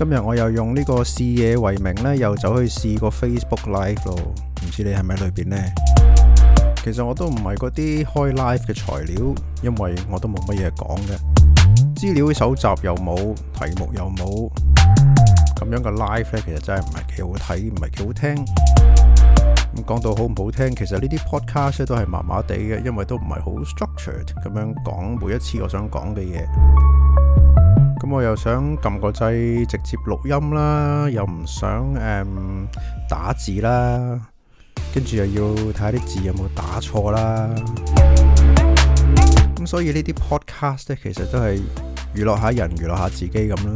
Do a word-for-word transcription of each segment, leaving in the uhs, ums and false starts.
今日我又用呢個試嘢為名呢，又走去試個 Facebook Live 咯，唔知你係咪裏邊呢？其實我都唔係嗰啲開 live 嘅材料，因為我都冇乜嘢講嘅，資料搜集又冇，題目又冇，咁樣嘅 live 呢，其實真係唔係幾好睇，唔係幾好聽。咁講到好唔好聽，其實呢啲 podcast 都係麻麻地嘅，因為都唔係好 structured 咁樣講每一次我想講嘅嘢。咁我又想撳個掣直接錄音啦，又唔想誒、嗯、打字啦，跟住又要睇下啲字有冇打錯啦。咁所以呢啲 podcast 咧，其實都係娛樂下人，娛樂下自己咁啦。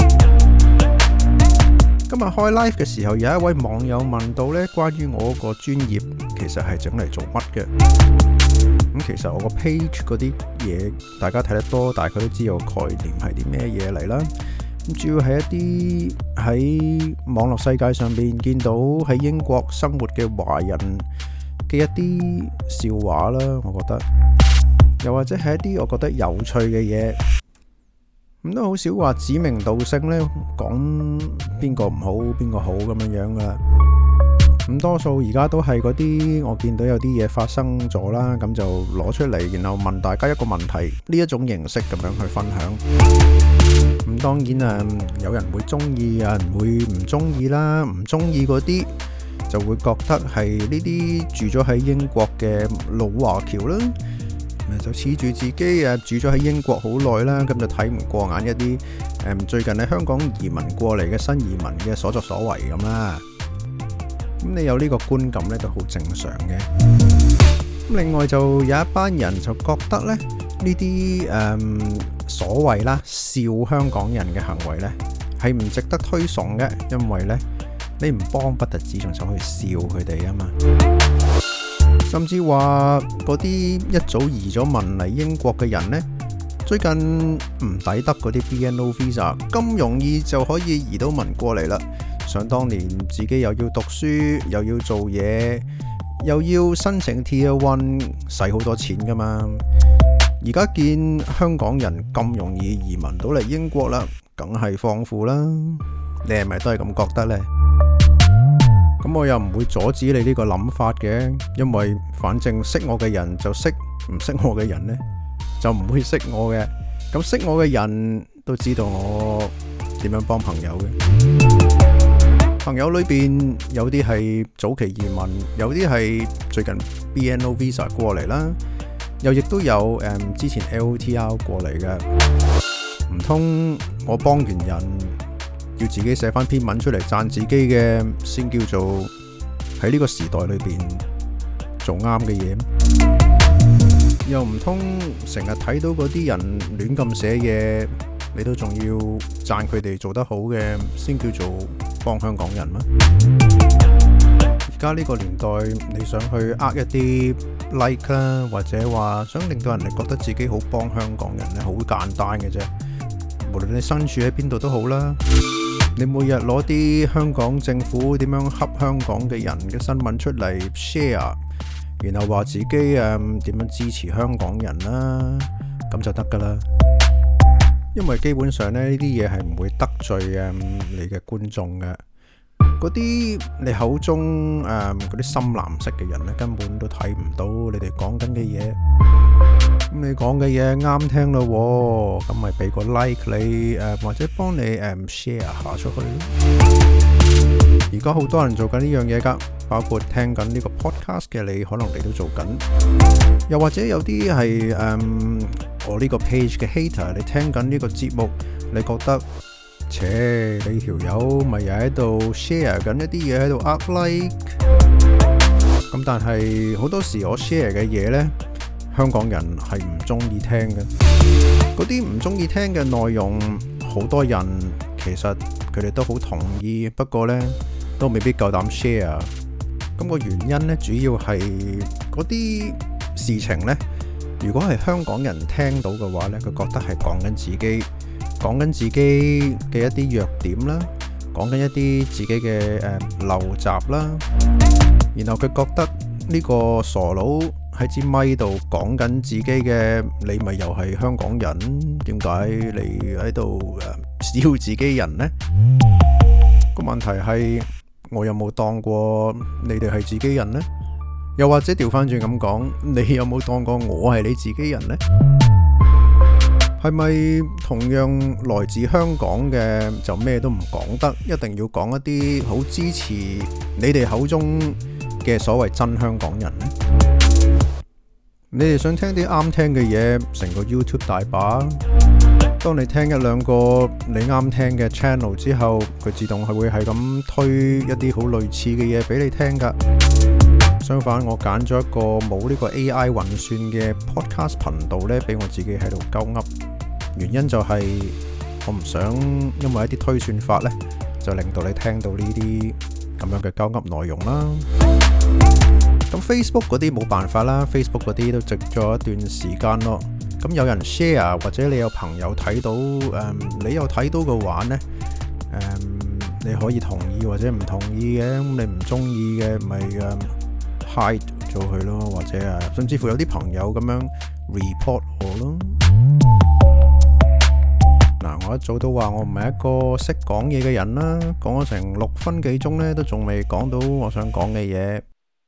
今日開 live 嘅時候，有一位網友問到呢，關於我個專業其實係整嚟做乜嘅？咁其實我個 page 嗰啲嘢，大家睇得多，大概都知道概念係啲咩嘢嚟啦。咁主要係一啲喺網絡世界上邊見到喺英國生活嘅華人嘅一啲笑話啦，我覺得，又或者係一啲我覺得有趣嘅嘢。咁都好少話指名道姓呢，講邊個唔好邊個好咁樣樣噶啦。咁多數而家都係嗰啲我見到有啲嘢發生咗啦，咁就攞出嚟，然後問大家一個問題，呢一種形式咁樣去分享。咁當然啊，有人會中意，有人會唔中意啦。唔中意嗰啲就會覺得係呢啲住咗喺英國嘅老華僑啦。就恃住自己誒住咗喺英國好耐啦，咁就睇唔過眼一啲誒最近喺香港移民過嚟嘅新移民嘅所作所為咁啦。咁你有呢個觀感咧，都好正常嘅。咁另外就有一班人就覺得咧，呢啲誒所謂啦笑香港人嘅行為咧係唔值得推崇嘅，因為咧你唔幫不特止，仲想去笑佢哋啊嘛。甚至話嗰啲一早移咗民嚟英國嘅人呢，最近唔抵得嗰啲 B N O visa， 咁容易就可以移到民過嚟啦。想當年自己又要讀書，又要做嘢，又要申請 Tier One， 使好多錢噶嘛。而家見香港人咁容易移民到嚟英國啦，梗係放負啦。你係咪都係咁覺得呢？咁我又唔會阻止你呢個諗法嘅，因為反正識我嘅人就識，唔識我嘅人呢就唔會識我嘅。咁識我嘅人都知道我點樣幫朋友嘅。朋友裏邊有啲係早期移民，有啲係最近 B N O visa 過嚟啦，又亦都有誒、嗯、之前 L O T R 過嚟嘅。唔通我幫完人，要自己寫翻篇文出嚟讚自己嘅，先叫做喺呢個時代裏邊做啱嘅嘢？又唔通成日睇到嗰啲人亂咁寫嘢，你都仲要讚佢哋做得好嘅，先叫做幫香港人咩？而家呢個年代，你想去呃一啲 like 啦，或者話想令到人哋覺得自己好幫香港人咧，好簡單嘅啫。無論你身處喺邊度都好啦。你每日攞啲香港政府點樣恰香港嘅人嘅新聞出嚟 share， 然後話自己誒點樣支持香港人啦，咁就得噶啦。因為基本上咧，呢啲嘢係唔會得罪誒你嘅觀眾嘅。嗰啲你口中誒嗰啲深藍色嘅人咧，根本都睇唔到你哋講緊嘅嘢。咁你講嘅嘢啱聽咯，咁咪俾個 like 你誒，或者幫你誒 share 下出去。而家好多人做緊呢樣嘢噶，包括聽緊呢個 podcast 嘅你，可能你都做緊。又或者有啲係誒我呢個 page 嘅 hater， 你聽緊呢個節目，你覺得，切你條友咪又喺度 share 緊一啲嘢喺度呃 like。咁但係好多時我 share 嘅嘢呢，香港人係唔中意聽嘅。嗰啲唔中意聽嘅內容，好多人其實佢哋都好同意，不過呢都未必夠膽 share。咁個原因呢，主要係嗰啲事情呢，如果係香港人聽到嘅話呢，佢覺得係講緊自己，講緊自己嘅一啲弱點啦，講緊一啲自己嘅誒陋習啦，然後佢覺得呢個傻佬喺支咪度講緊自己嘅，你咪又係香港人？點解你喺度笑自己人呢？個問題係我有冇當過你哋係自己人呢？又或者調翻轉咁講，你有冇當過我係你自己人呢？係咪同樣來自香港嘅就咩都唔講得，一定要講一啲好支持你哋口中嘅所謂真香港人呢？你哋想聽啲啱聽嘅嘢，成個 YouTube 大把。當你聽一兩個你啱聽嘅 channel 之後，佢自動係會係咁推一啲好類似嘅嘢俾你聽噶。相反，我揀咗一個冇呢個 A I 運算嘅 podcast 頻道呢，俾我自己喺度鳩噏。原因就係我唔想因為一啲推算法呢，就令到你聽到呢啲咁樣嘅鳩噏內容啦。咁 Facebook 嗰啲冇辦法啦 ，Facebook 嗰啲都值咗一段時間咯。咁有人 share 或者你有朋友睇到，誒、嗯，你有睇到嘅話呢，誒、嗯，你可以同意或者唔同意嘅。咁你唔中意嘅，咪誒 hide 咗佢咯，或者誒，甚至乎有啲朋友咁樣 report 我咯。嗱，我一早都話我唔係一個識講嘢嘅人啦，講咗成六分幾鐘呢，都仲未講到我想講嘅嘢。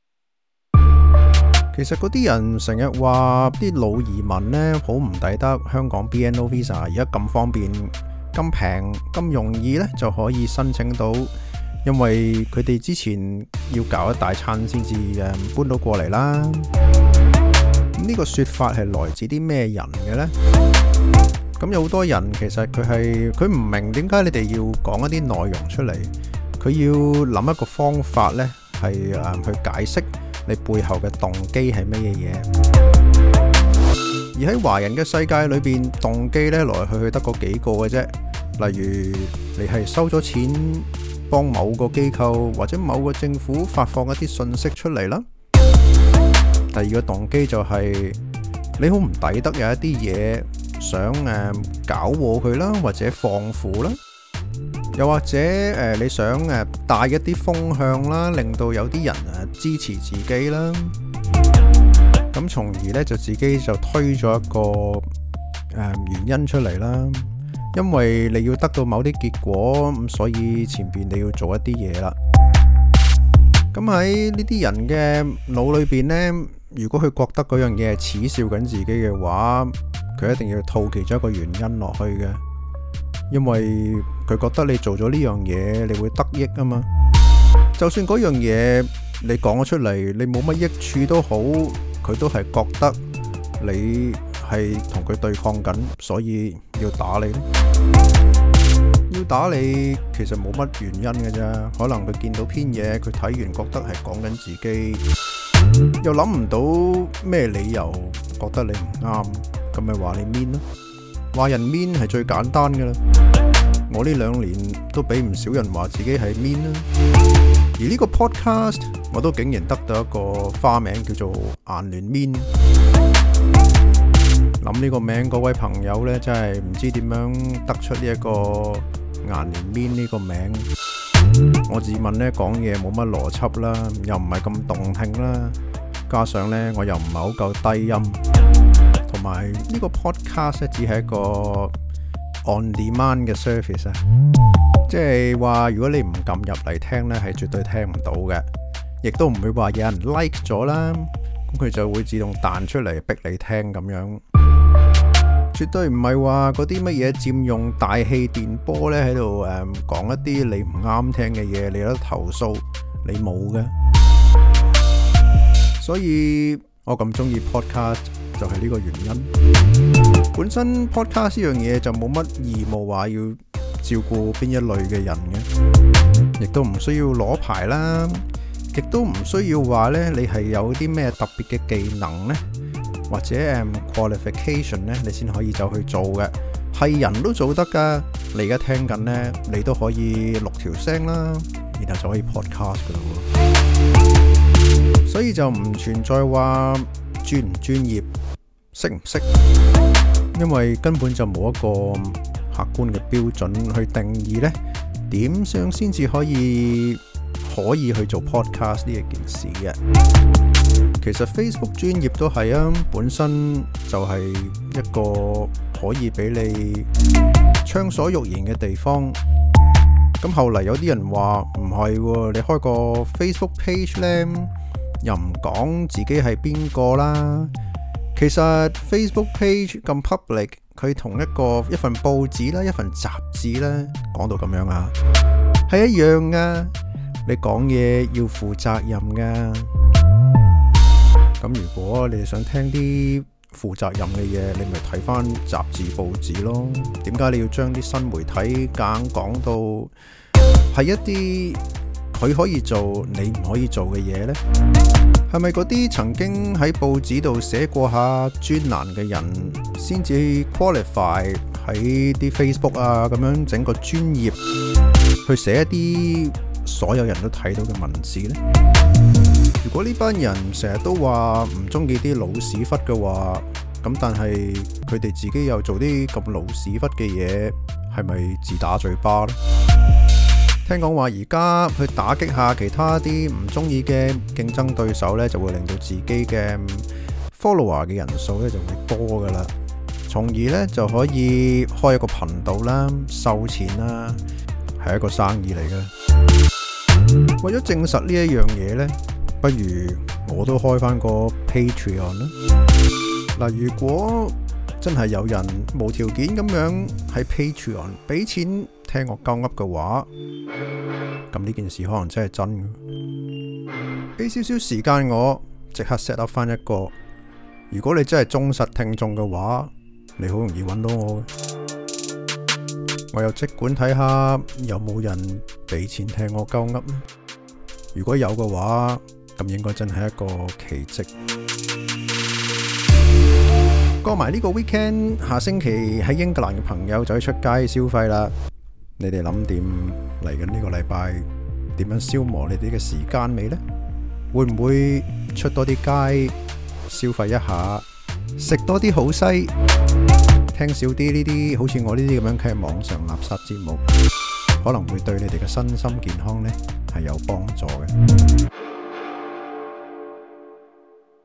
其實嗰啲人成日話啲老移民呢好唔抵得香港 B N O Visa， 而家咁方便、咁平、咁容易呢就可以申請到，因為佢哋之前要搞一大餐先至誒搬到過嚟啦。咁呢個說法係來自啲咩人嘅呢？咁有好多人其實佢係佢唔明點解你哋要講一啲內容出嚟，佢要諗一個方法呢係誒去解釋你背後嘅動機係乜嘢嘢。而喺華人嘅世界裏邊，動機呢來來去去得嗰幾個嘅啫。例如你係收咗錢幫某個機構或者某個政府發放一啲信息出嚟啦。第二個動機就係你好唔抵得有一啲嘢想誒搞禍佢啦，或者放負啦。又或者誒、呃，你想誒帶一啲風向啦，令到有啲人誒支持自己啦，咁從而咧就自己就推咗一個誒、呃、原因出嚟啦。因為你要得到某啲結果，咁所以前邊你要做一啲嘢啦。咁喺呢啲人嘅腦裏邊呢，如果佢覺得嗰樣嘢係恥笑緊自己嘅話，佢一定要套其中一個原因落去嘅。因為佢覺得你做咗呢樣嘢，你會得益啊嘛。就算嗰樣嘢你講咗出嚟，你冇乜益處都好，佢都係覺得你係同佢對抗緊，所以要打你。要打你其實冇乜原因嘅啫，可能佢見到篇嘢，佢睇完覺得係講緊自己，又諗唔到咩理由覺得你唔啱，咁咪話你 mean 咯。話人 mean 係最簡單噶啦，我呢兩年都俾唔少人話自己係 mean 啦。而呢個 podcast 我都竟然得到一個花名叫做顏聯 mean。諗呢個名嗰位朋友呢，真係唔知點樣得出呢一個顏聯 mean 呢個名。我自問呢講嘢冇乜邏輯啦，又唔係咁動聽啦，加上呢我又唔係好夠低音。同埋呢個 podcast 只係一個 on demand 嘅 service 啊，即係話如果你唔撳入嚟聽呢，係絕對聽唔到嘅，亦都唔會話有人 like 咗啦，咁佢就會自動彈出嚟逼你聽咁樣，絕對唔係話嗰啲乜嘢佔用大氣電波呢喺度誒講一啲你唔啱聽嘅嘢，你有得投訴，你冇嘅。所以我咁中意 podcast。就係呢個原因。本身 podcast 呢樣嘢就冇乜義務話要照顧邊一類嘅人嘅，亦都唔需要攞牌啦，亦都唔需要話呢你係有啲咩特別嘅技能呢，或者 qualification 呢，你先可以走去做嘅，係人都做得噶。你而家聽緊呢，你都可以錄條聲啦，然後就可以 podcast 噶啦。所以就唔存在話專唔專業，識唔識，因為根本就冇一個客觀嘅標準去定義呢點樣先至可以可以去做 podcast 呢一件事嘅。其實 Facebook 專頁都係啊，本身就係一個可以俾你暢所欲言嘅地方。咁後嚟有啲人話唔係，你開個 Facebook page 呢，又唔講自己係邊個啦。其實 Facebook page 咁 public， 佢同一個一份報紙啦、一份雜誌啦，講到咁樣啊，係一樣噶。你講嘢要負責任噶。咁如果你想聽啲負責任嘅嘢，你咪睇翻雜誌報紙咯。點解你要將啲新媒體夾硬講到係一啲佢可以做你唔可以做嘅嘢呢？係咪嗰啲曾經喺報紙度寫過下專欄嘅人先至 qualify 喺啲 Facebook 啊咁樣整個專頁去寫一啲所有人都睇到嘅文字呢？如果呢班人成日都話唔中意啲老屎忽嘅話，咁但係佢哋自己又做啲咁老屎忽嘅嘢，係咪自打嘴巴呢？聽講話而家去打擊下其他啲唔中意嘅競爭對手呢，就會令到自己嘅 follower 嘅人數呢就會多噶啦，從而呢就可以開一個頻道啦，收錢啦，係一個生意嚟嘅。為咗證實呢一樣嘢呢，不如我都開翻個 Patreon 啦。嗱，如果真係有人無條件咁樣喺 Patreon 俾錢聽我鳩噏嘅話，咁呢件事可能真係真嘅。俾少少時間我即刻 set up 翻一個。如果你真係忠實聽眾嘅話，你好容易揾到我嘅。我又即管睇下有冇人俾錢聽我鳩噏。如果有嘅話，咁應該真係一個奇蹟。過埋呢個 weekend， 下星期喺英格蘭嘅朋友就可以出街消費啦。你哋諗掂嚟緊呢個禮拜點樣消磨你哋嘅時間未呢？會唔會出多啲街消費一下，食多啲好西，聽少啲呢啲好似我呢啲咁樣嘅網上垃圾節目，可能會對你哋嘅身心健康呢係有幫助嘅。